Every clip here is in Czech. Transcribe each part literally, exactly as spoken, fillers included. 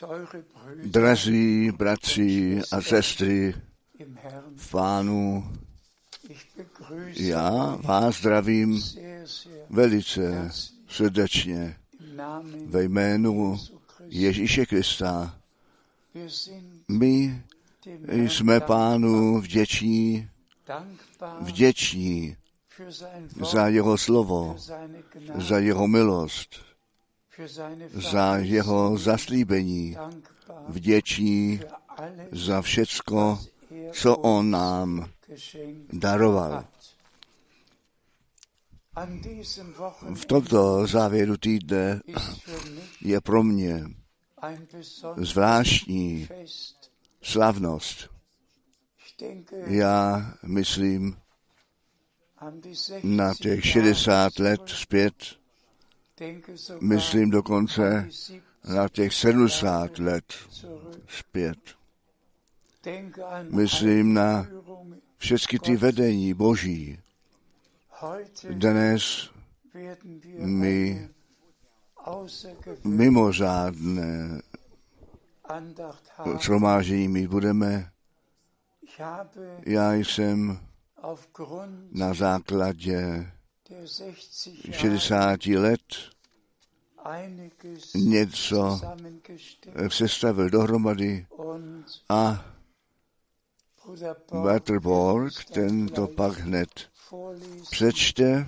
Drazí bratři a sestry v Pánu, já vás zdravím velice srdečně ve jménu Ježíše Krista. My jsme Pánu vděční, vděční za jeho slovo, za jeho milost, za jeho zaslíbení, vděční za všecko, co on nám daroval. V tomto závěru týdne je pro mě zvláštní slavnost. Já myslím na těch šedesát let zpět, myslím dokonce na těch sedmdesát let zpět. Myslím na všechny ty vedení Boží. Dnes my mimořádné shromáždění mít budeme. Já jsem na základě šedesáti let něco sestavil dohromady a bratr Borg, ten to pak hned přečte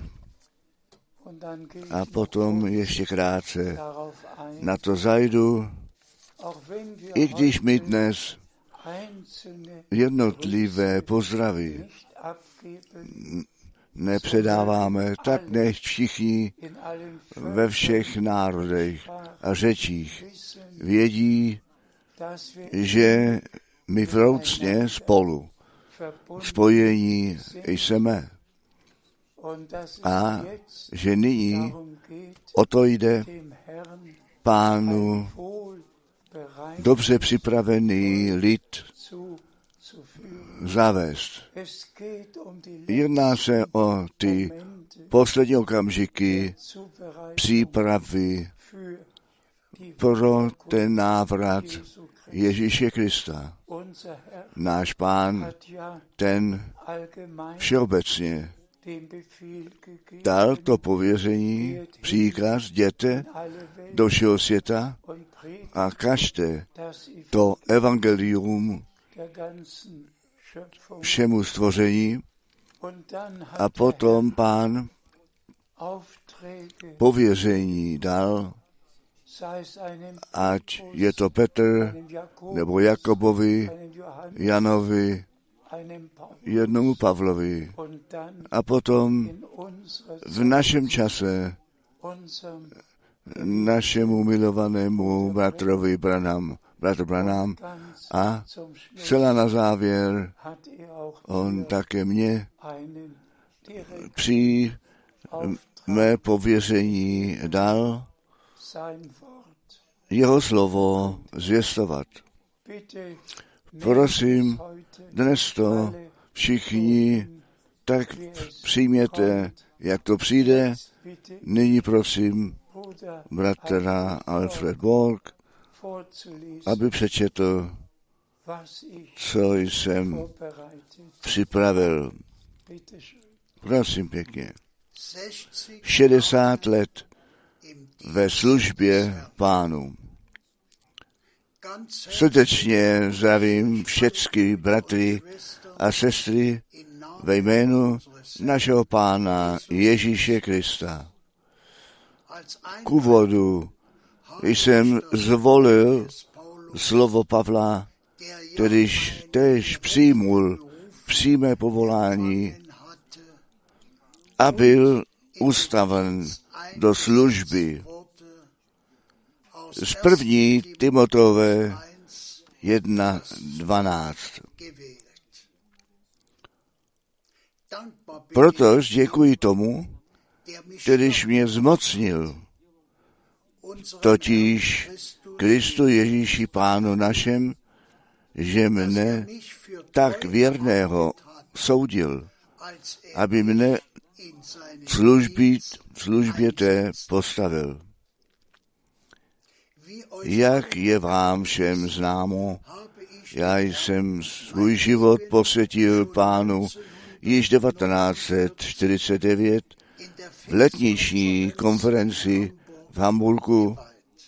a potom ještě krátce na to zajdu, i když my dnes jednotlivé pozdravy nepředáváme, tak nech všichni ve všech národech a řečích vědí, že my vroucně spolu spojení jsme a že nyní o to jde Pánu dobře připravený lid zavést. Jedná se o ty poslední okamžiky přípravy pro ten návrat Ježíše Krista. Náš Pán, ten všeobecně dal to pověření, příkaz, jděte do všeho světa a kažte to evangelium všemu stvoření. A potom Pán pověření dal, ať je to Petr, nebo Jakobovi, Janovi, jednomu Pavlovi. A potom v našem čase našemu milovanému bratrovi Branham, bratr Branham, a celá na závěr on také mě při mé pověření dal jeho slovo zvěstovat. Prosím, dnes to všichni tak přijměte, jak to přijde. Nyní prosím bratra Alfred Borg, aby přečetl, co jsem připravil. Prosím pěkně. šedesát let ve službě Pánu. Srdečně zdravím všechny bratry a sestry ve jménu našeho Pána Ježíše Krista. K úvodu jsem zvolil slovo Pavla, kterýž též přijmul přímé povolání a byl ustaven do služby. Z první Timotové jedna dvanáct. Protož děkuji tomu, kterýž mě zmocnil, totiž Kristu Ježíši Pánu našem, že mne tak věrného soudil, aby mne službě, službě té postavil. Jak je vám všem známo, já jsem svůj život posvětil Pánu již devatenáct set čtyřicet devět v letniční konferenci v Hamburgu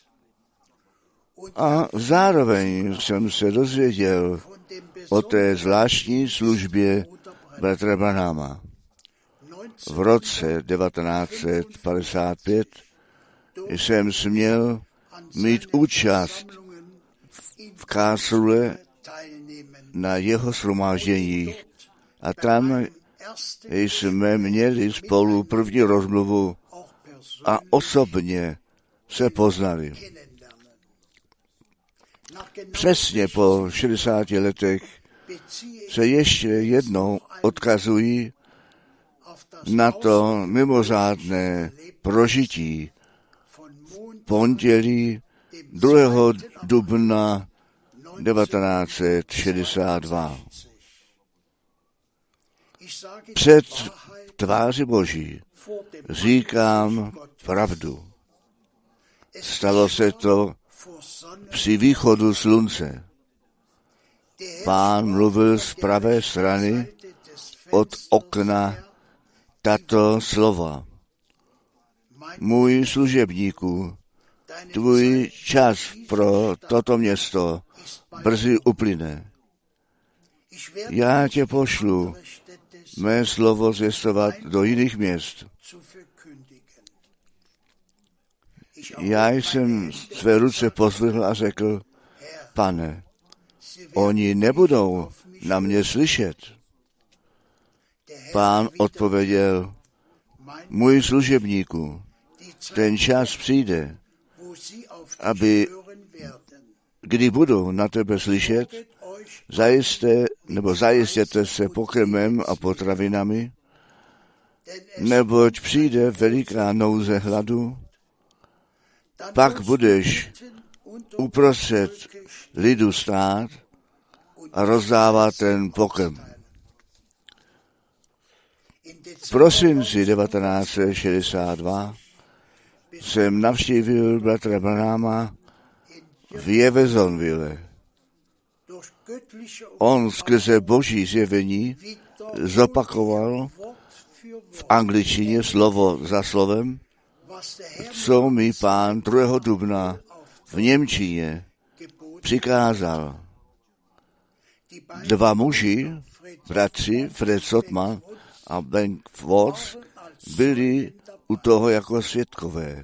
a zároveň jsem se dozvěděl o té zvláštní službě bratra Branhama. V roce devatenáct set padesát pět jsem směl mít účast v Karlsruhe na jeho shromážděních a tam jsme měli spolu první rozmluvu a osobně se poznali. Přesně po šedesáti letech se ještě jednou odkazují na to mimořádné prožití pondělí druhého dubna devatenáct set šedesát dva. Před tváří Boží říkám pravdu. Stalo se to při východu slunce. Pán mluvil z pravé strany od okna tato slova. Můj služebníku, tvůj čas pro toto město brzy uplyne. Já tě pošlu mé slovo zvěstovat do jiných měst. Já jsem své ruce pozvihl a řekl, Pane, oni nebudou na mě slyšet. Pán odpověděl, můj služebníku, ten čas přijde, aby, kdy budou na tebe slyšet, zajisté, nebo zajistěte se pokrmem a potravinami, neboť přijde veliká nouze hladu, pak budeš uprostřed lidu stát a rozdávat ten pokrm. V prosinci devatenáct set šedesát dva jsem navštívil bratra Branhama v Jeffersonville. On skrze boží zjevení zopakoval v angličtině slovo za slovem, co mi Pán druhého dubna v němčině přikázal. Dva muži, bratři Fred Sotman a Ben Watts, byli u toho jako svědkové.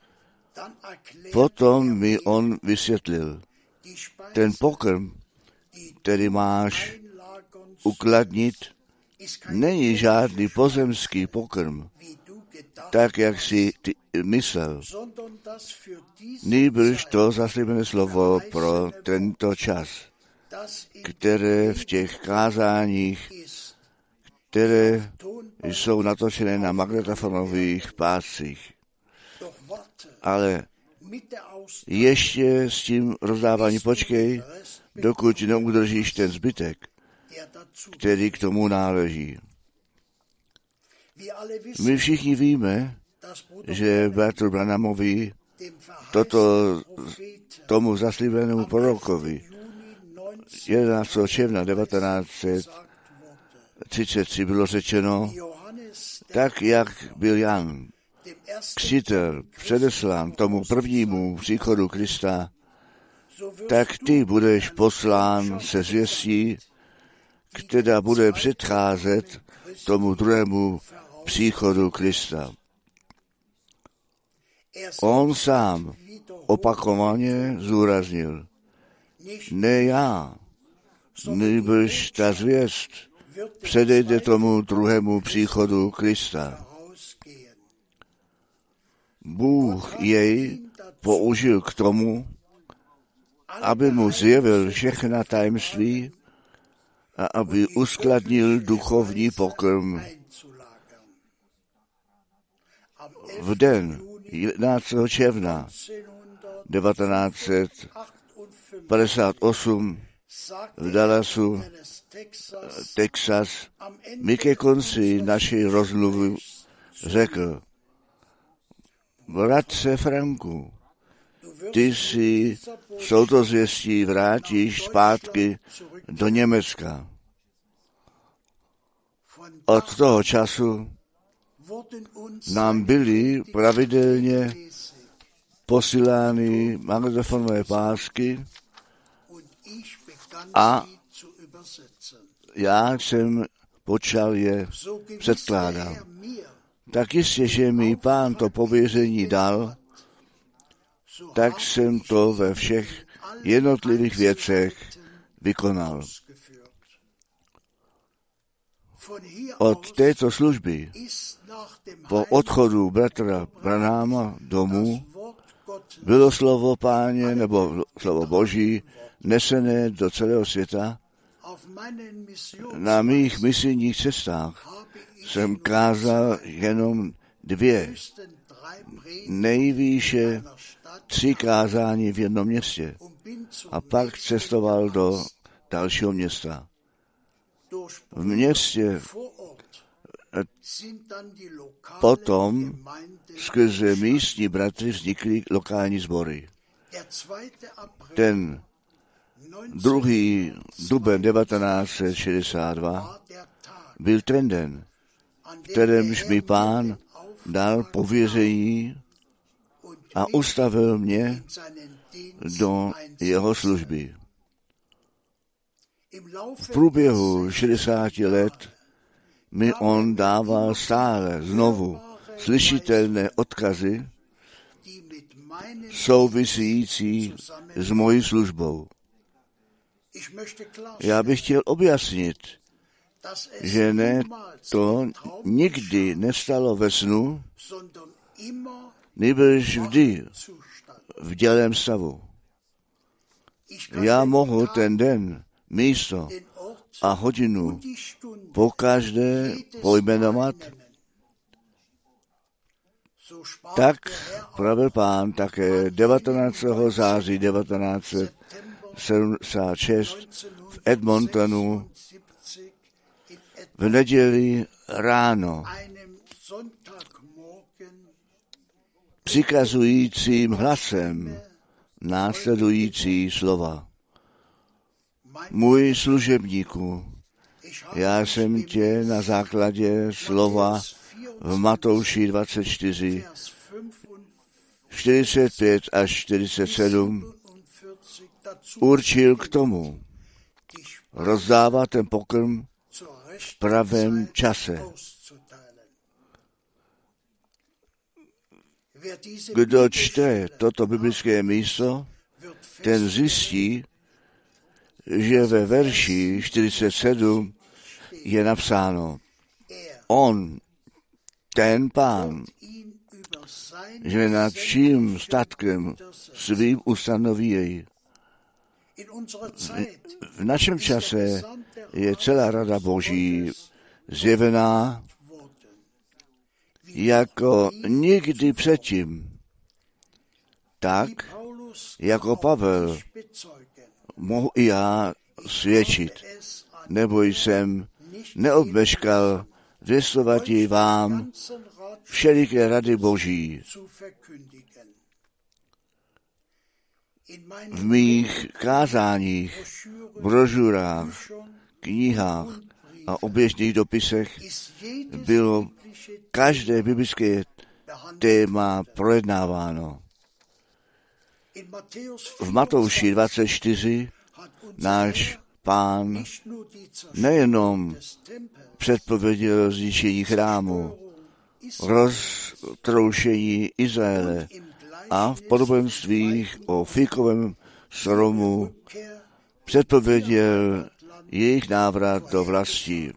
Potom mi on vysvětlil, ten pokrm, který máš ukladnit, není žádný pozemský pokrm, tak, jak si ty myslel. Nýbrž to zaslíbené slovo pro tento čas, které v těch kázáních, které jsou natočené na magnetofonových páscích. Ale ještě s tím rozdávání počkej, dokud neudržíš ten zbytek, který k tomu náleží. My všichni víme, že bratru Branhamovi, toto tomu zaslíbenému prorokovi, jedenáctého června devatenáct set třicet tři bylo řečeno, tak jak byl Jan Křtitel předeslán tomu prvnímu příchodu Krista, tak ty budeš poslán se zvěstí, která bude předcházet tomu druhému příchodu Krista. On sám opakovaně zúraznil, ne já, nýbrž ta zvěst předejde tomu druhému příchodu Krista. Bůh jej použil k tomu, aby mu zjevil všechna tajemství a aby uskladnil duchovní pokrm. V den jedenáctého června devatenáct set padesát osm v Dallasu, Texas, mi ke konci naší rozmluvy řekl, bratře Franku, ty si s touto zvěstí vrátíš zpátky do Německa. Od toho času nám byly pravidelně posílány magnetofonové pásky a já jsem počal je předkládat. Tak jistě, že mi Pán to pověření dal, tak jsem to ve všech jednotlivých věcech vykonal. Od této služby po odchodu bratra Branhama domů bylo slovo Páně nebo slovo Boží nesené do celého světa. Na mých misijních cestách jsem kázal jenom dvě, nejvýše tři kázání v jednom městě a pak cestoval do dalšího města. V městě potom skrze místní bratry vznikly lokální sbory. Ten druhý duben devatenáct set šedesát dva byl ten den, kterémž mi Pán dal pověření a ustavil mě do jeho služby. V průběhu šedesáti let mi on dával stále znovu slyšitelné odkazy související s mojí službou. Já bych chtěl objasnit, že ne to nikdy nestalo ve snu, nýbrž vždy v dělém stavu. Já mohu ten den, místo a hodinu po každé pojmenovat. Tak pravil Pán také devatenáctého září devatenáct set sedmdesát šest v Edmontonu v neděli ráno přikazujícím hlasem následující slova. Můj služebníku, já jsem tě na základě slova v Matouši dvacet čtyři, čtyřicet pět až čtyřicet sedm určil k tomu rozdávat ten pokrm v pravém čase. Kdo čte toto biblické místo, ten zjistí, že ve verši čtyřicet sedm je napsáno, on, ten Pán, že nad vším statkem svým ustanoví jej. V našem čase je celá rada Boží zjevená jako nikdy předtím. Tak, jako Pavel, mohu i já svědčit, nebo jsem neobmeškal zvěstovat ji vám všeliké rady Boží. V mých kázáních, brožurách, knihách a oběžných dopisech bylo každé biblické téma projednáváno. V Matouši dvacet čtyři náš Pán nejenom předpověděl zničení chrámu, roztroušení Izraele a v podobenstvích o fíkovém stromu předpověděl jejich návrat do vlasti.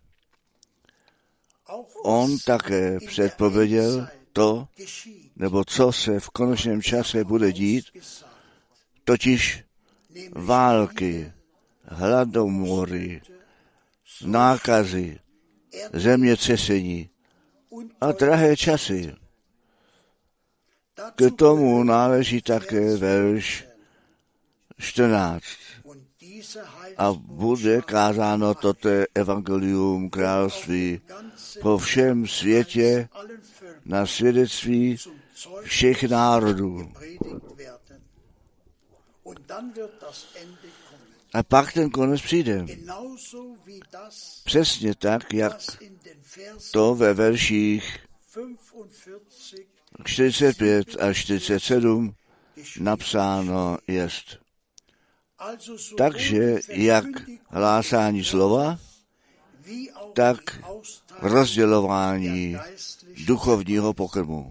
On také předpověděl to, nebo co se v konečném čase bude dít, totiž války, hladomory, nákazy, zemětřesení a drahé časy. K tomu náleží také verš čtrnáct. A bude kázáno toto evangelium království po všem světě na svědectví všech národů. A pak ten konec přijde. Přesně tak, jak to ve verších čtyřicet pět a čtyřicet sedm napsáno jest. Takže jak hlásání slova, tak rozdělování duchovního pokrmu.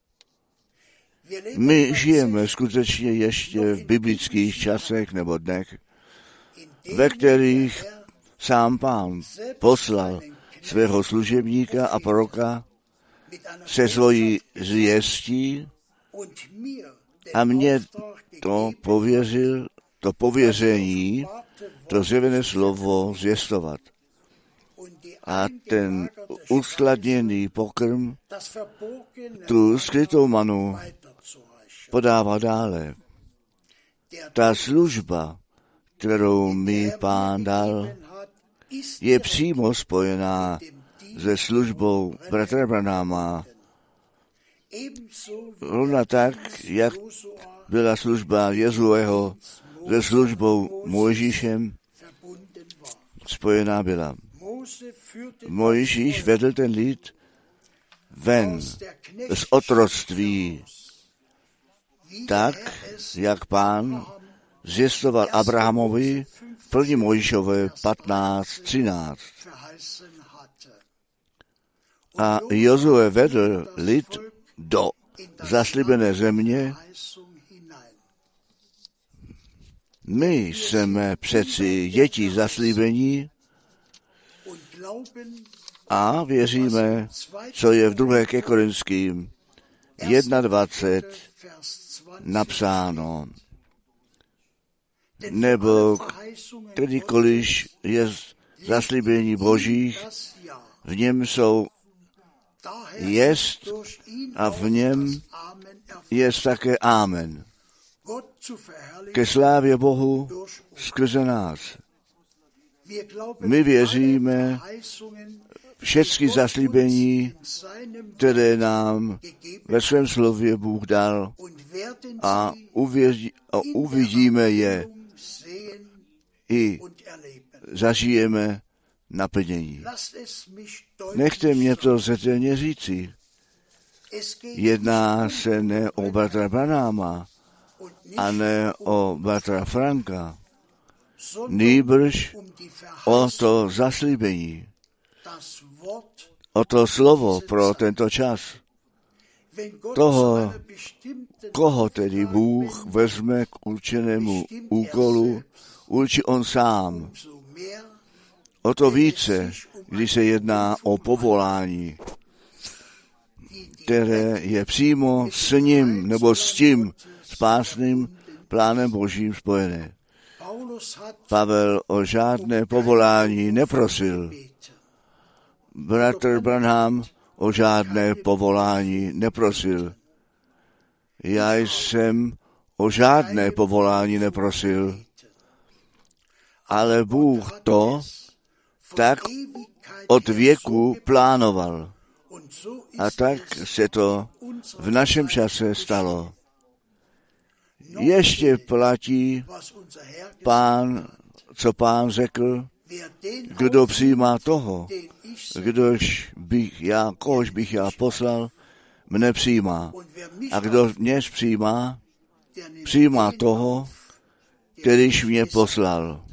My žijeme skutečně ještě v biblických časech nebo dnech, ve kterých sám Pán poslal svého služebníka a proroka se svojí zvěstí a mě to pověřil, to pověření, to zjevené slovo zvěstovat. A ten uskladněný pokrm, tu skrytou manu podává dále. Ta služba, kterou mi Pán dal, je přímo spojená se službou bratra Branhama. Rovna tak, jak byla služba Jezueho se službou Mojžíšem, spojená byla. Mojžíš vedl ten lid ven z otroctví, tak, jak Pán zvěstoval Abrahamovi v první Mojžíšové patnáct třináct. A Jozue vedl lid do zaslíbené země. My jsme přeci děti zaslíbení a věříme, co je v druhé ke Korinským dvacet jedna napsáno. Nebo kdykoliv je zaslíbení Božích, v něm jsou jest a v něm je také Amen. Ke slávě Bohu skrze nás. My věříme všechny zaslíbení, které nám ve svém slově Bůh dal a, uvěří, a uvidíme je i zažijeme naplnění. Nechte mě to zřetelně říci. Jedná se ne o bratra Branhama a ne o bratra Franka, nýbrž o to zaslíbení, o to slovo pro tento čas. Toho, koho tedy Bůh vezme k určenému úkolu, určí on sám. O to více, když se jedná o povolání, které je přímo s ním nebo s tím spásným plánem Božím spojené. Pavel o žádné povolání neprosil. Bratr Branham o žádné povolání neprosil. Já jsem o žádné povolání neprosil. Ale Bůh to tak od věku plánoval. A tak se to v našem čase stalo. Ještě platí Pán, co Pán řekl, kdo přijímá toho, kdož bych já, kohož bych já poslal, mne přijímá. A kdo mě přijímá, přijímá toho, kterýž mě poslal.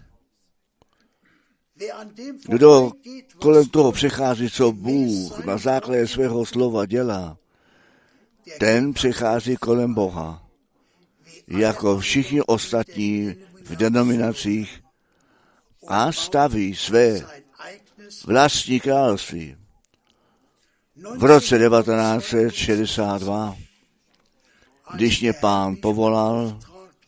Kdo kolem toho přechází, co Bůh na základě svého slova dělá, ten přechází kolem Boha. Jako všichni ostatní v denominacích a staví své vlastní království. V roce devatenáct set šedesát dva, když mě Pán povolal,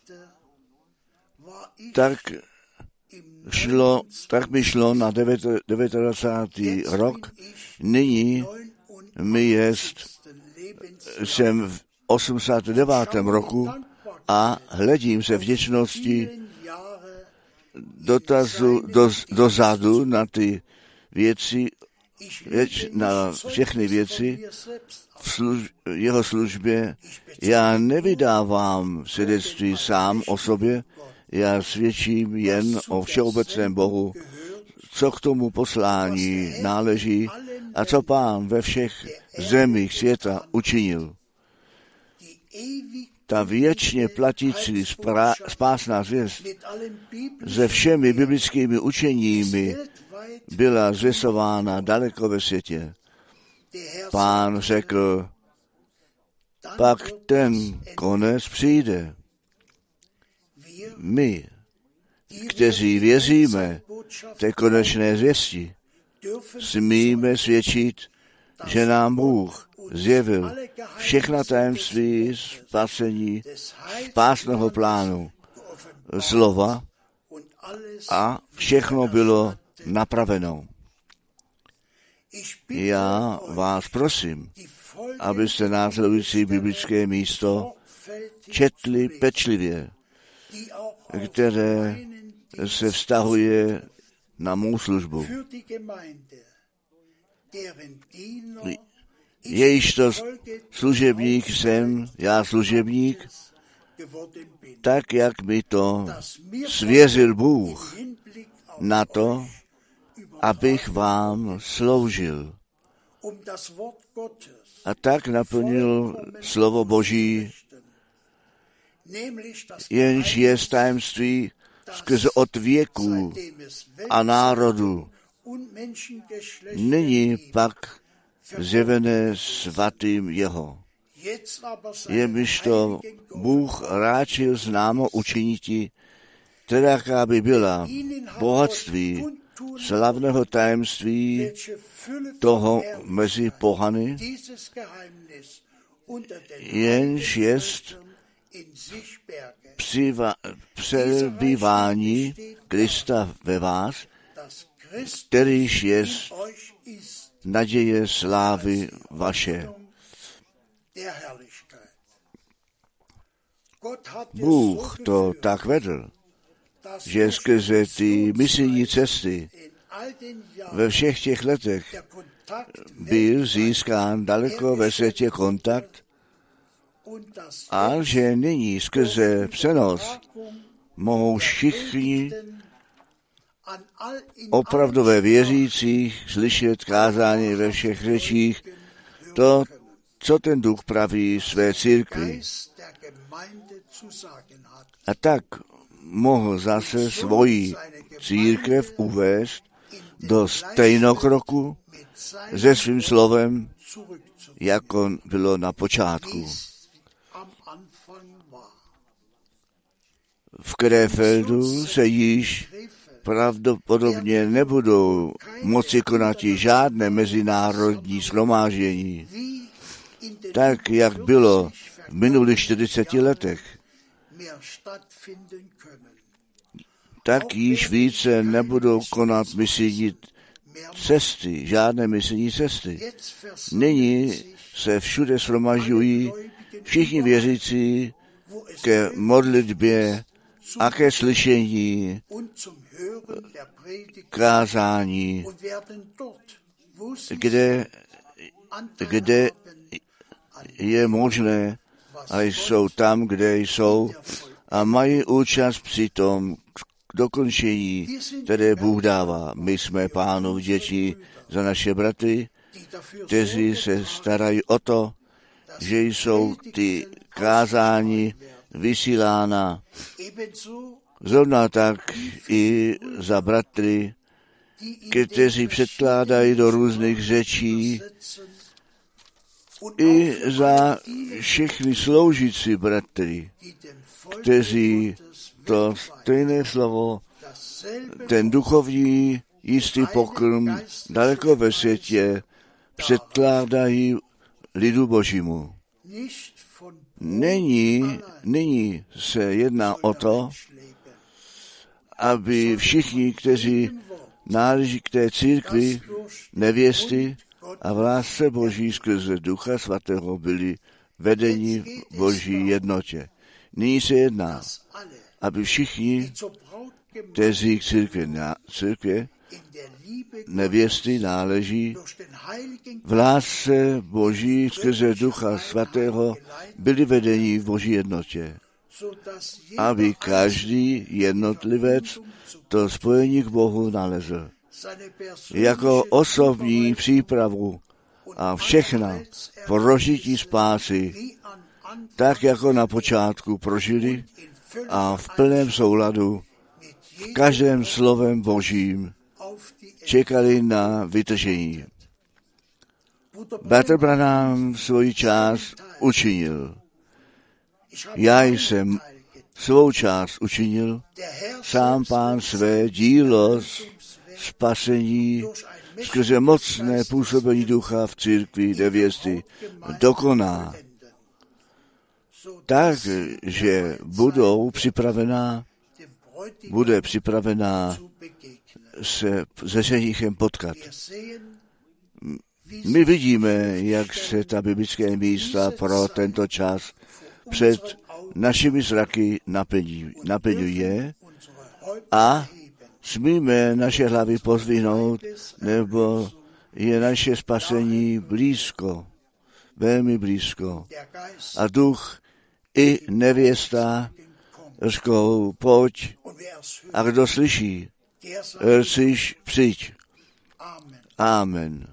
tak šlo, tak mi šlo na devadesátý rok. Nyní mi jest, jsem v osmdesátém devátém roku a hledím se vděčnosti dotazu, do, dozadu na ty věci, věč, na všechny věci v služ, jeho službě. Já nevydávám svědectví sám o sobě, já svědčím jen o všeobecném Bohu, co k tomu poslání náleží a co Pán ve všech zemích světa učinil. Ta věčně platící spásná zvěst se všemi biblickými učeními byla zvěstována daleko ve světě. Pán řekl, pak ten konec přijde. My, kteří věříme té konečné zvěsti, smíme svědčit, že nám Bůh zjevil všechna tajemství spasení spásného plánu slova a všechno bylo napraveno. Já vás prosím, abyste následující biblické místo četli pečlivě, které se vztahuje na mou službu. Jejížto služebník jsem, já služebník, tak, jak mi to svěřil Bůh na to, abych vám sloužil. A tak naplnil slovo Boží, jenž je tajemství skrze od věků a národu. Nyní pak zjevené svatým jeho. Jemiž to Bůh ráčil známo učiniti, teda by byla bohatství slavného tajemství toho mezi pohany, jenž jest přebývání Krista ve vás, kterýž jest naděje slávy vaše. Bůh to tak vedl, že skrze ty misijní cesty ve všech těch letech byl získán daleko ve světě kontakt a že nyní skrze přenos mohou všichni opravdové věřících slyšet kázání ve všech řečích, to, co ten duch praví své církvi. A tak mohl zase svoji církev uvést do stejnokroku se svým slovem, jako bylo na počátku. V Krefeldu se již pravděpodobně nebudou moci konat žádné mezinárodní shromáždění, tak jak bylo v minulých čtyřiceti letech. Tak již více nebudou konat misijní cesty, žádné misijní cesty. Nyní se všude shromažďují všichni věřící ke modlitbě a ke slyšení kázání, kde, kde je možné a jsou tam, kde jsou a mají účast při tom dokončení, které Bůh dává. My jsme Pánu vděční za naše bratry, kteří se starají o to, že jsou ty kázání vysílána. Zrovna tak i za bratry, kteří předkládají do různých řečí, i za všechny sloužící bratry, kteří to stejné slovo, ten duchovní jistý pokrm daleko ve světě předkládají lidu Božímu. Není, nyní se jedná o to, aby všichni, kteří náleží k té církvi, nevěsty a v lásce Boží skrze Ducha Svatého byli vedeni v Boží jednotě. Nyní se jedná, aby všichni, kteří k církvi, církvi nevěsty náleží v lásce Boží skrze Ducha Svatého byli vedeni v Boží jednotě, aby každý jednotlivec to spojení k Bohu nalezl. Jako osobní přípravu a všechna prožití spásy, tak jako na počátku prožili a v plném souladu v každém slovem Božím čekali na vytržení. Bratr Branham svoji část učinil. Já jsem svou část učinil, sám Pán své dílo spasení skrze mocné působení ducha v církvi nevěsty dokoná, takže budou připravená, bude připravená se se ženichem potkat. My vidíme, jak se ta biblické místa pro tento čas před našimi zraky naplňuje a smíme naše hlavy pozdvihnout, nebo je naše spasení blízko, velmi blízko. A duch i nevěsta řekou, pojď, a kdo slyší, slyš, přijď. Amen.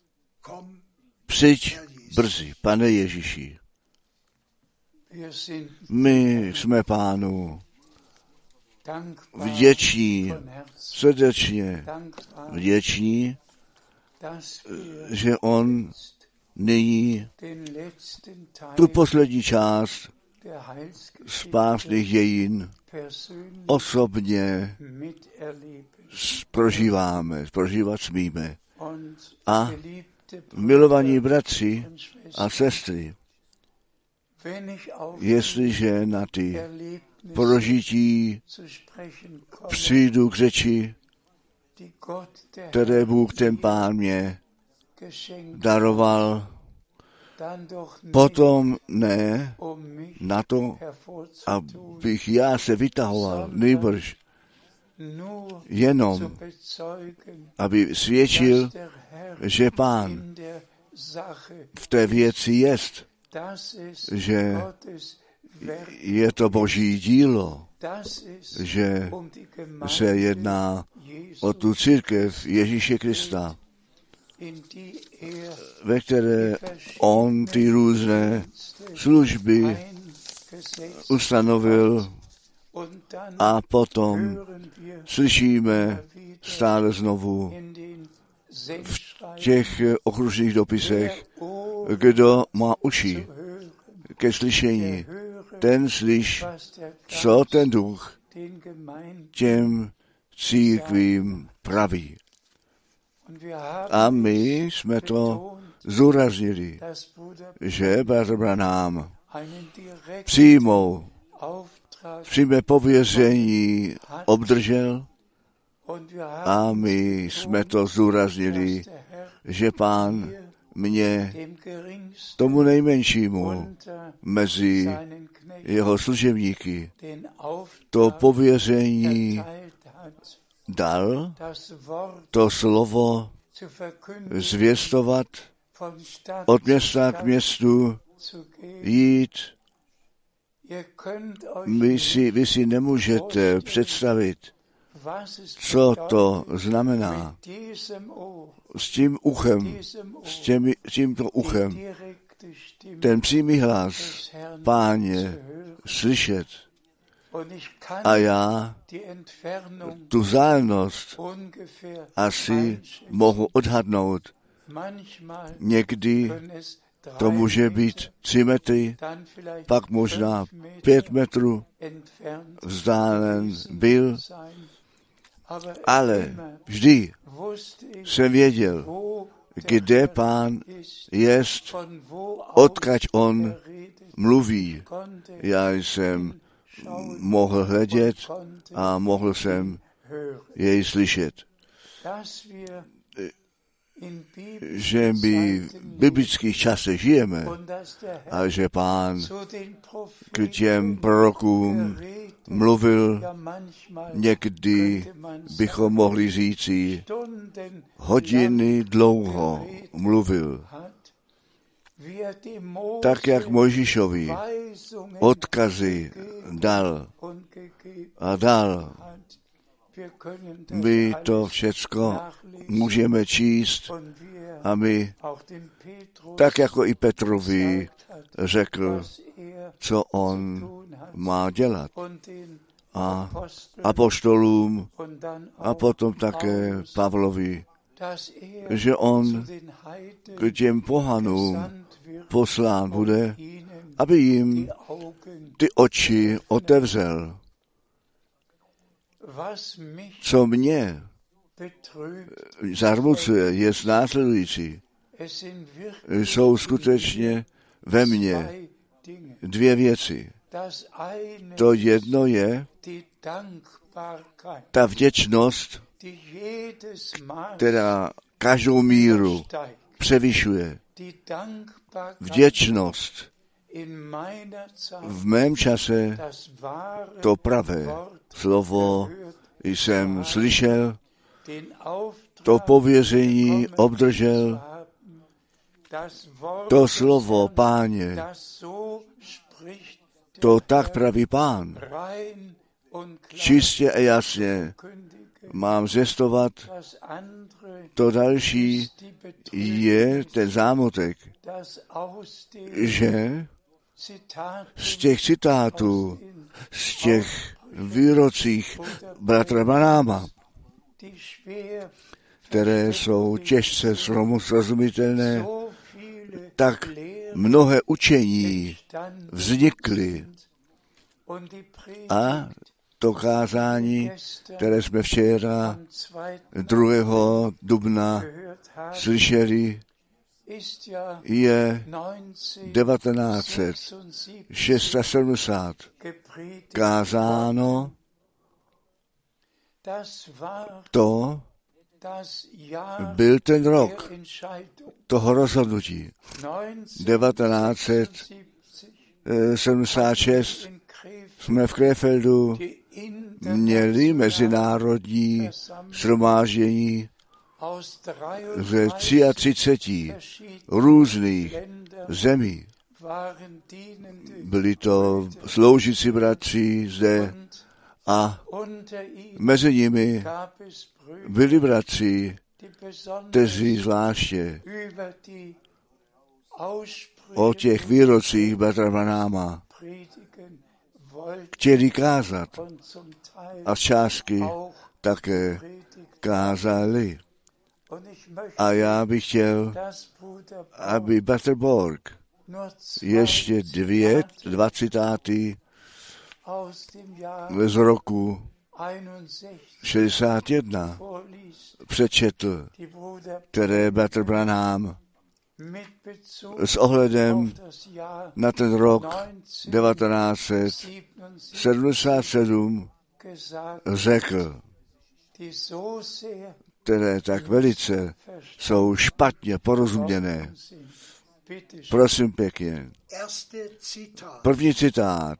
Přijď brzy, Pane Ježíši. My jsme Pánu vděční, srdečně vděční, že on nyní tu poslední část spásných dějin osobně prožíváme, prožívat smíme. A milovaní bratři a sestry, jestliže na ty prožití přijdu k řeči, které Bůh ten Pán mě daroval, potom ne na to, abych já se vytahoval, nejbrž jenom, aby svědčil, že Pán v té věci jest, že je to Boží dílo, že se jedná o tu církev Ježíše Krista, ve které on ty různé služby ustanovil a potom slyšíme stále znovu v těch okružných dopisech, kdo má uši ke slyšení, ten slyš, co ten duch těm církvím praví. A my jsme to zúraznili, že bratr Branham přímou, přímé pověření obdržel a my jsme to zúraznili, že Pán mě, tomu nejmenšímu mezi jeho služebníky, to pověření dal, to slovo zvěstovat, od města k městu jít. Vy si, vy si nemůžete představit, co to znamená s tím uchem, s těmi, tímto uchem, ten přímý hlas Páně slyšet. A já tu vzdálenost asi mohu odhadnout. Někdy to může být tři metry, pak možná pět metrů vzdálen byl, ale vždy jsem věděl, kde Pán jest, odkud on mluví. Já jsem mohl hledět a mohl jsem jej slyšet. že my v biblických časech žijeme a že Pán k těm prorokům mluvil, někdy bychom mohli říci, hodiny dlouho mluvil. Tak, jak Mojžíšovi odkazy dal a dal. My to všecko můžeme číst a my, tak jako i Petrovi řekl, co on má dělat. A apoštolům a potom také Pavlovi, že on k těm pohanům poslán bude, aby jim ty oči otevřel. Co mě zarmucuje, je následující. Jsou skutečně ve mně dvě věci. To jedno je ta vděčnost, která každou míru převyšuje. Vděčnost v mém čase to pravé slovo jsem slyšel, to pověření obdržel, to slovo Páně, to tak praví Pán. Čistě a jasně mám zvěstovat, to další je ten zámotek, že z těch citátů, z těch výrocích bratra Branhama, které jsou těžce srozumitelné, tak mnohé učení vznikly a to kázání, které jsme včera druhého dubna slyšeli, je devatenáct set sedmdesát šest kázáno. To byl ten rok toho rozhodnutí. devatenáct set sedmdesát šest jsme v Krefeldu měli mezinárodní shromáždění ze třicet tři různých zemí. Byli to sloužící bratři zde a mezi nimi byli bratři, kteří zvláště o těch výrocích bratra Branhama chtěli kázat a z částky také kázali. A já bych chtěl, aby bratr Borg ještě dvě, dva citáty z roku šedesát jedna přečetl, které bratr Branham s ohledem na ten rok devatenáct set sedmdesát sedm řekl, které tak velice jsou špatně porozuměné. Prosím pěkně. První citát.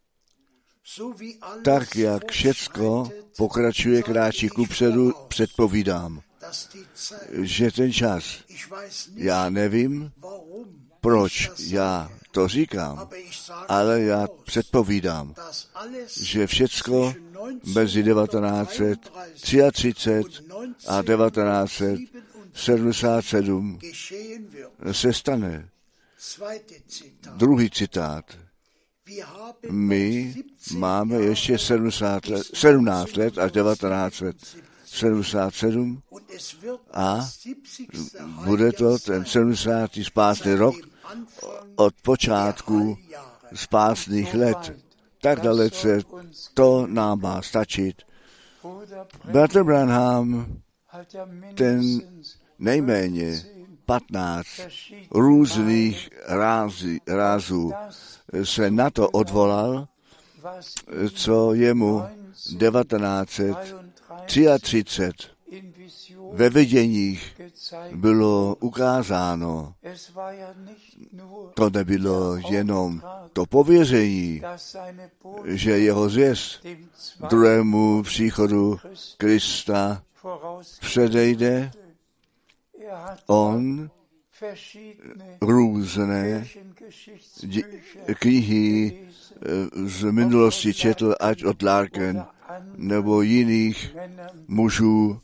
Tak, jak všecko pokračuje kráčí kupředu, předpovídám, že ten čas, já nevím, proč já to říkám, ale já předpovídám, že všecko mezi devatenáct set třicet tři a devatenáct set sedmdesát sedm se stane. Druhý citát. My máme ještě sedmdesát let, sedmnáct let až devatenáct set sedmdesát sedm a bude to ten sedmdesátý spásný rok od počátku spásných let. Tak dalece to nám má stačit. Bratr Branham, ten nejméně patnáct různých rází, rázů se na to odvolal, co jemu devatenáct set třicet tři ve viděních bylo ukázáno. To nebylo jenom to pověření, že jeho zvěst druhému příchodu Krista předejde. On různé knihy z minulosti četl, ať od Larken nebo jiných mužů,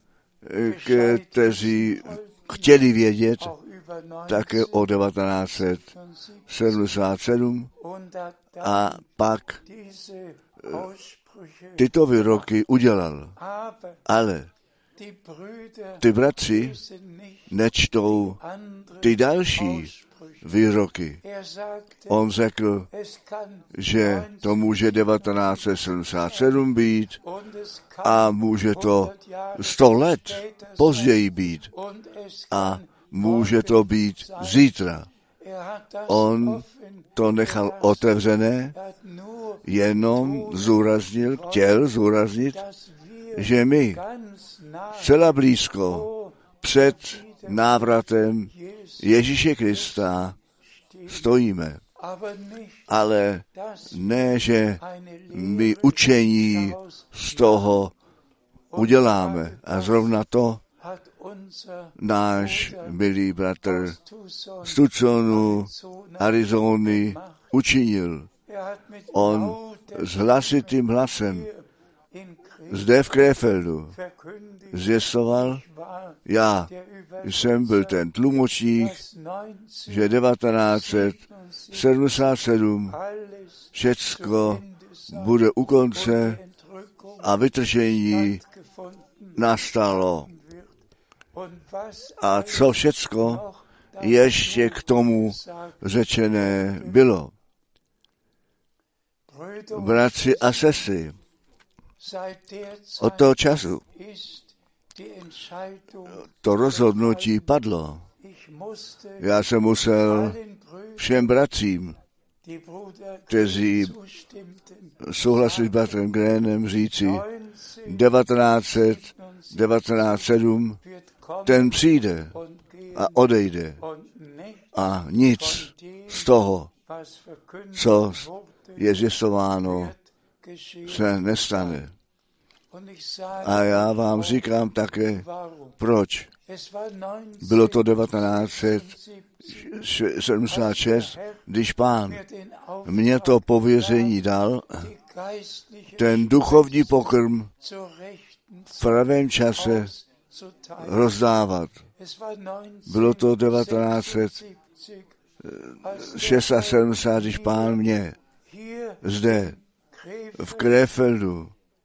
kteří chtěli vědět také o devatenáct set sedmdesát sedm a pak tyto výroky udělal. Ale ty bratři nečtou ty další výroky. On řekl, že to může devatenáct set sedmdesát sedm být a může to sto let později být a může to být zítra. On to nechal otevřené, jenom zúraznil, chtěl zúraznit, že my celá blízko před návratem Ježíše Krista stojíme. Ale ne, že my učení z toho uděláme. A zrovna to náš milý bratr z Tucsonu, Arizony učinil. On s hlasitým hlasem zde v Krefeldu zvěstoval, já jsem byl ten tlumočník, že devatenáct set sedmdesát sedm všecko bude u konce a vytržení nastalo. A co všecko ještě k tomu řečené bylo. Bratři a sestry, od toho času to rozhodnutí padlo. Já jsem musel všem bratřím, kteří souhlasili s bratrem Grénem, říci devatenáct set devadesát sedm, ten přijde a odejde a nic z toho, co je zjistováno, se nestane. A já vám říkám také, proč. Bylo to devatenáct set sedmdesát šest, když Pán mě to pověření dal, ten duchovní pokrm v pravém čase rozdávat. Bylo to devatenáct set sedmdesát šest, když Pán mě zde v Krefeldu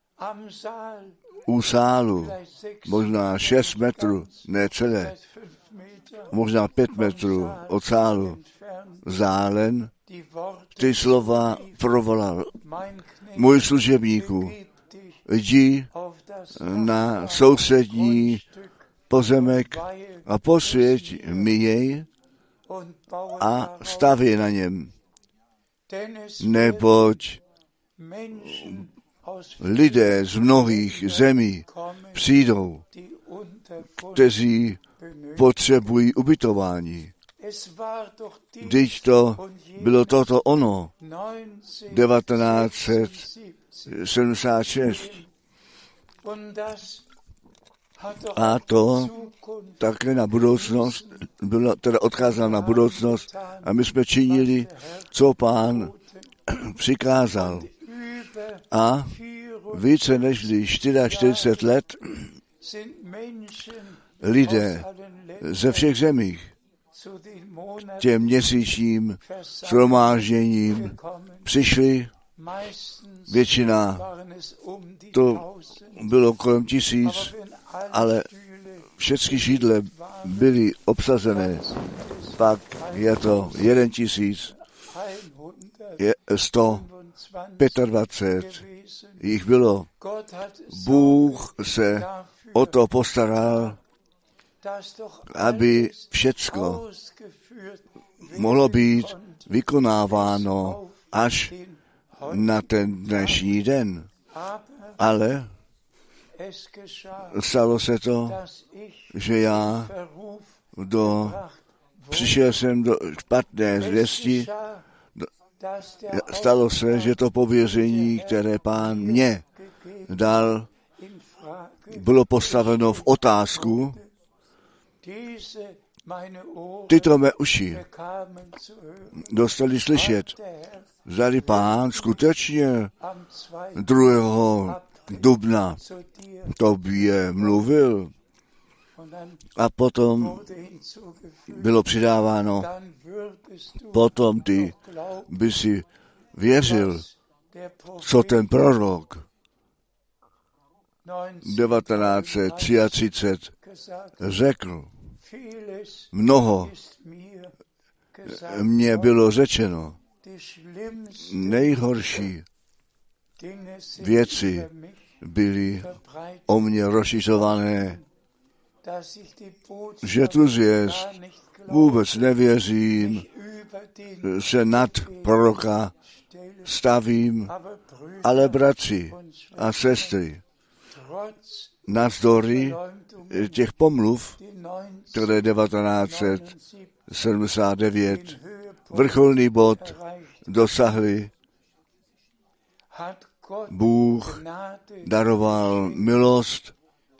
u sálu, možná šest metrů, ne celé, možná pět metrů od sálu, zálen, ty slova provolal. Můj služebníku, jdi na sousední pozemek a posvěť mi jej a staví na něm. Neboť lidé z mnohých zemí přijdou, kteří potřebují ubytování. Vždyť to bylo toto ono, devatenáct set sedmdesát šest. A to také na budoucnost, bylo teda odkázáno na budoucnost a my jsme činili, co Pán přikázal. A více než čtyřicet čtyři let lidé ze všech zemích těm měsíčním shromážděním přišli. Většina to bylo kolem tisíc, ale všechny židle byly obsazené. Pak je to jeden tisíc, je sto dvacet pět jich bylo. Bůh se o to postaral, aby všecko mohlo být vykonáváno až na ten dnešní den. Ale stalo se to, že já do, přišel jsem do špatné zvěsti. Stalo se, že to pověření, které Pán mě dal, bylo postaveno v otázku. Tyto mé uši dostali slyšet, zdali Pán skutečně druhého dubna tobě mluvil. A potom bylo přidáváno, potom ty by si věřil, co ten prorok devatenáct set třicet tři řekl. Mnoho mně bylo řečeno. Nejhorší věci byly o mě rozšiřované, že tu zvěst vůbec nevěřím, se nad proroka stavím, ale bratři a sestry, navzdory těch pomluv, které devatenáct set sedmdesát devět vrcholný bod dosahly, Bůh daroval milost,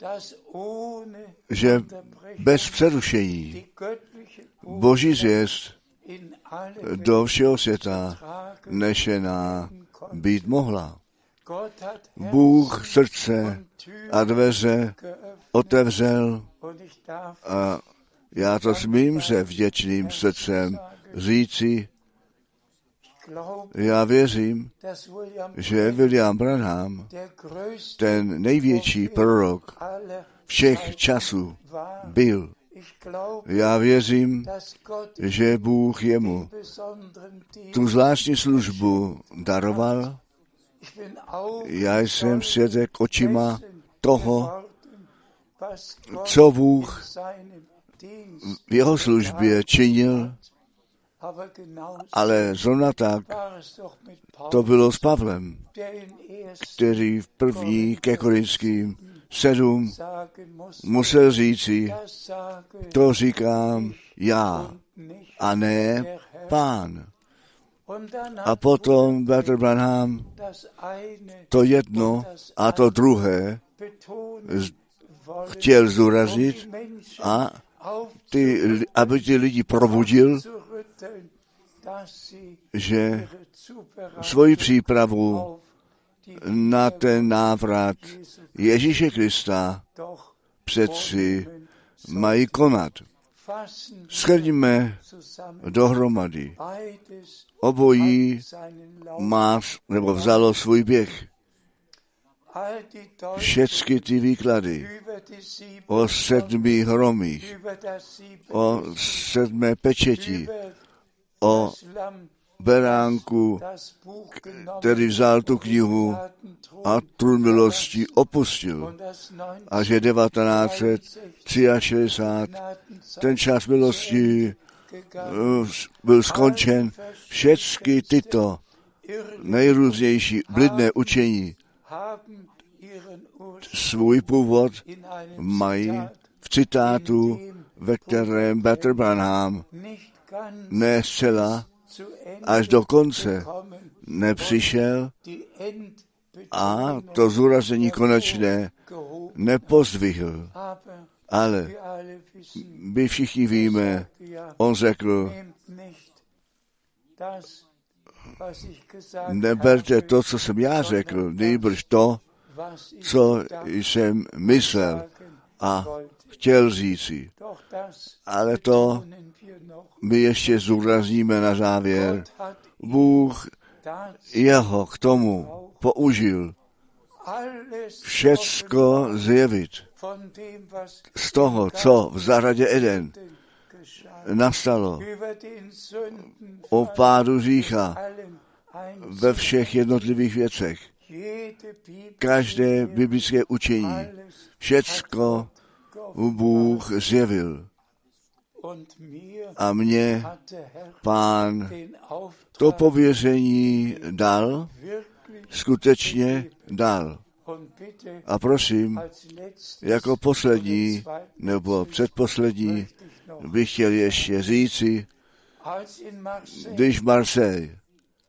že bez přerušení Boží zvěst do všeho světa nešená být mohla. Bůh srdce a dveře otevřel a já to smím se vděčným srdcem říci, já věřím, že William Branham, ten největší prorok všech časů, byl. Já věřím, že Bůh jemu tu zvláštní službu daroval. Já jsem svědek očima toho, co Bůh v jeho službě činil, ale zrovna tak to bylo s Pavlem, který v první ke Korinským sedm musel říci, to říkám já a ne Pán. A potom bratr Branham to jedno a to druhé chtěl zdůraznit a ty, aby ty lidi probudil, že svoji přípravu na ten návrat Ježíše Krista přeci mají konat. Shrňme dohromady. Obojí má, nebo vzalo svůj běh. Všechny ty výklady o sedmi hromích, o sedmé pečeti, o beránku, který vzal tu knihu a trůn milosti opustil. A že devatenáct set šedesát tři ten čas milosti byl skončen. Všechny tyto nejrůznější bludné učení svůj původ mají v citátu, ve kterém bratr Branham ne zcela až do konce nepřišel a to zúraznění konečné nepozdvihl. Ale my všichni víme, on řekl, neberte to, co jsem já řekl, nejbrž to, co jsem myslel a chtěl říci. Ale to my ještě zúrazníme na závěr. Bůh jeho k tomu použil všecko zjevit z toho, co v zahradě Eden nastalo, o pádu hřícha ve všech jednotlivých věcech. Každé biblické učení, všecko Bůh zjevil. A mně Pán to pověření dal, skutečně dal. A prosím, jako poslední nebo předposlední bych chtěl ještě říci, když v Marseille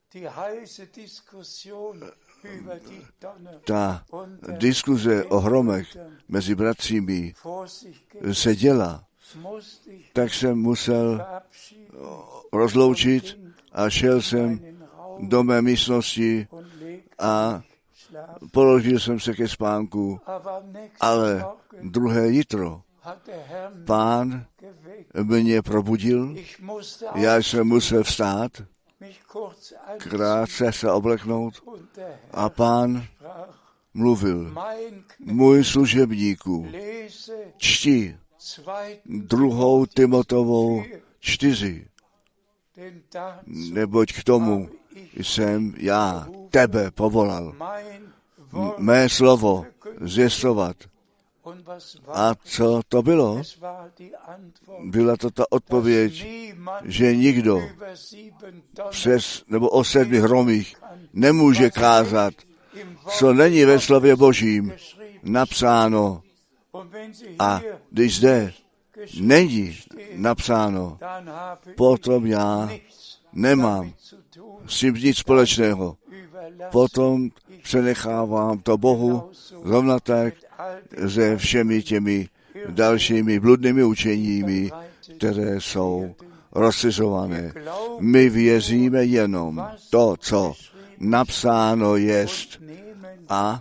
ta diskuze o hromech mezi bratřími se děla, tak jsem musel rozloučit a šel jsem do mé místnosti a položil jsem se ke spánku, ale druhé jitro Pán mě probudil, já jsem musel vstát, krátce se obleknout a Pán mluvil, můj služebníku, čti druhou Timotovou čtyři, neboť k tomu jsem já tebe povolal, M- mé slovo zvěstovat. A co to bylo? Byla to ta odpověď, že nikdo přes nebo o sedmi hromích nemůže kázat, co není ve slově Božím napsáno. A když zde není napsáno, potom já nemám s tím nic společného. Potom přenechávám to Bohu rovna tak se všemi těmi dalšími bludnými učeními, které jsou rozšiřované. My věříme jenom to, co napsáno jest, a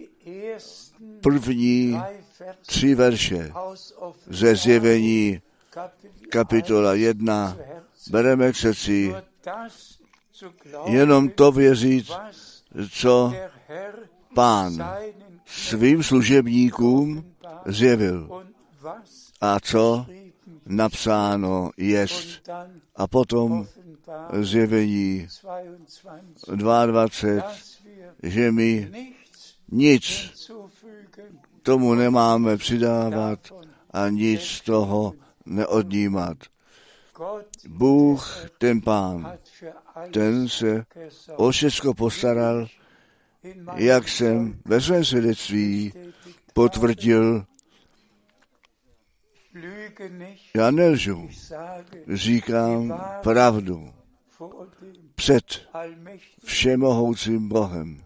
první tři verše ze Zjevení kapitola jedna bereme k srdci, jenom to věřit, co Pán svým služebníkům zjevil a co napsáno jest. A potom Zjevení dvacet dva, že my nic tomu nemáme přidávat a nic z toho neodnímat. Bůh, ten Pán, ten se o všechno postaral, jak jsem ve svém svědectví potvrdil. Já nelžu, říkám pravdu před všemohoucím Bohem.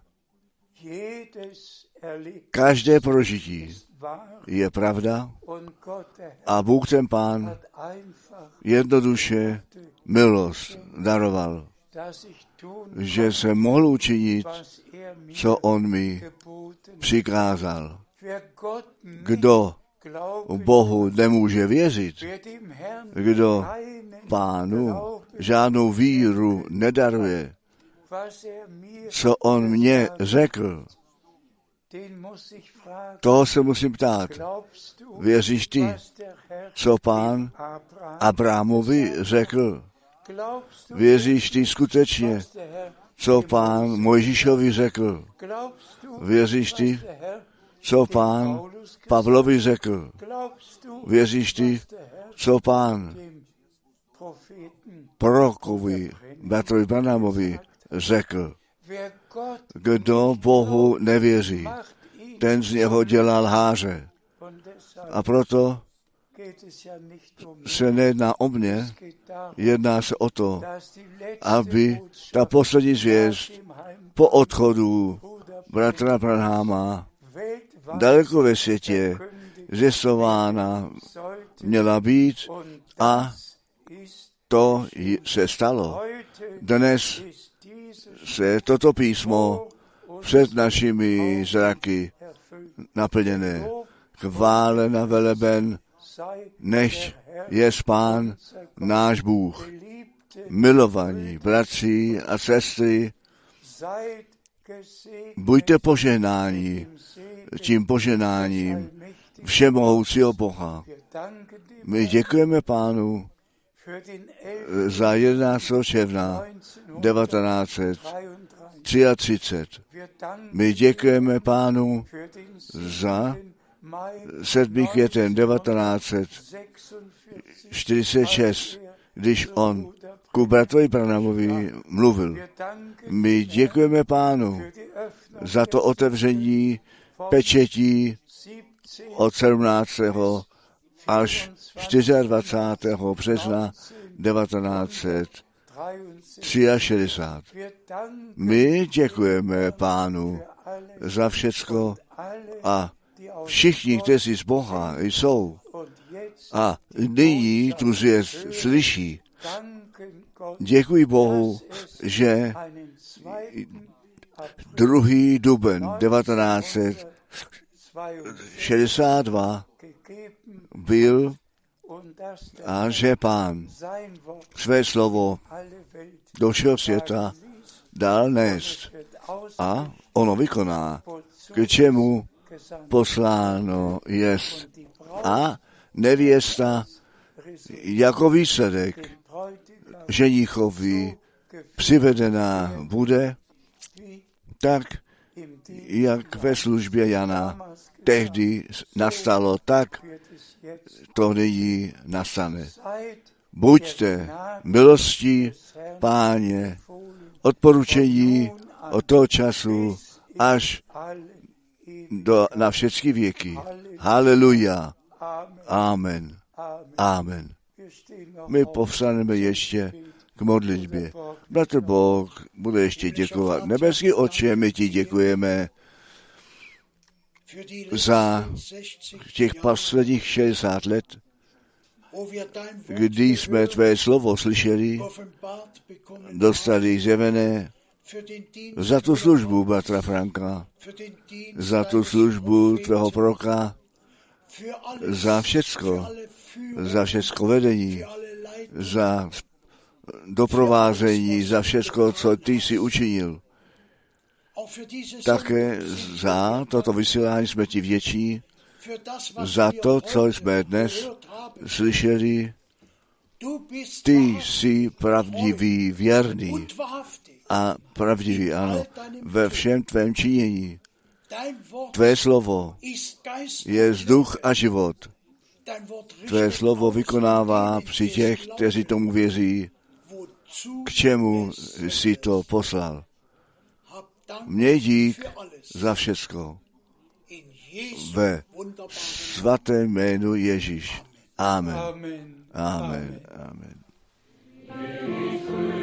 Každé prožití je pravda a Bůh ten Pán jednoduše milost daroval, že se mohl učinit, co on mi přikázal. Kdo Bohu nemůže věřit, kdo Pánu žádnou víru nedaruje, co on mě řekl, toho se musím ptát. Věříš ty, co Pán Abrahamovi řekl? Věříš ty skutečně, co Pán Mojžíšovi řekl? Věříš ty, co Pán Pavlovi řekl? Věříš ty, co Pán prorokovi, bratrovi Branhamovi řekl? Kdo Bohu nevěří, ten z něho dělá lháře. A proto se nejedná o mě, jedná se o to, aby ta poslední zvěst po odchodu bratra Branhama daleko ve světě zjistována měla být a to se stalo. Dnes se toto písmo před našimi zraky naplněné. Chválen a veleben, nechť je Pán náš Bůh. Milovaní bratři a sestry, buďte požehnáni tím požehnáním všemohoucího Boha. My děkujeme Pánu za jedenáctého června devatenáct set třiatřicet. My děkujeme Pánu za sedmý květen devatenáct set čtyřicet šest, když on ku bratrovi Branhamovi mluvil. My děkujeme Pánu za to otevření pečetí od sedmnáctého až dvacátého čtvrtého března devatenáct set šedesát tři. My děkujeme Pánu za všecko a všichni, kteří z Boha jsou a nyní tu zvěst slyší. Děkuji Bohu, že druhý duben devatenáct set šedesát dva byl a že Pán své slovo do všeho světa dal nést a ono vykoná, k čemu posláno jest. A nevěsta jako výsledek ženíchovi přivedená bude, tak jak ve službě Jana tehdy nastalo, tak to nyní nastane. Buďte milostí Páně, odporučení od toho času až do, na všechny věky. Haleluja. Amen. Amen. My povstaneme ještě k modlitbě. Bratr Bůh bude ještě děkovat. Nebeský Otče, my ti děkujeme za těch posledních šedesát let, kdy jsme tvé slovo slyšeli, dostali zjevené, za tu službu bratra Franka, za tu službu tvého proroka, za všecko, za všecko vedení, za doprovázení, za všecko, co ty jsi učinil. Také za toto vysílání jsme ti vděční, za to, co jsme dnes slyšeli. Ty jsi pravdivý, věrný a pravdivý, ano, ve všem tvém činění. Tvé slovo je vzduch a život. Tvé slovo vykonává při těch, kteří tomu věří, k čemu jsi to poslal. Měj dík za všecko. Ve svatém jménu Ježíš. Amen. Amen. Amen.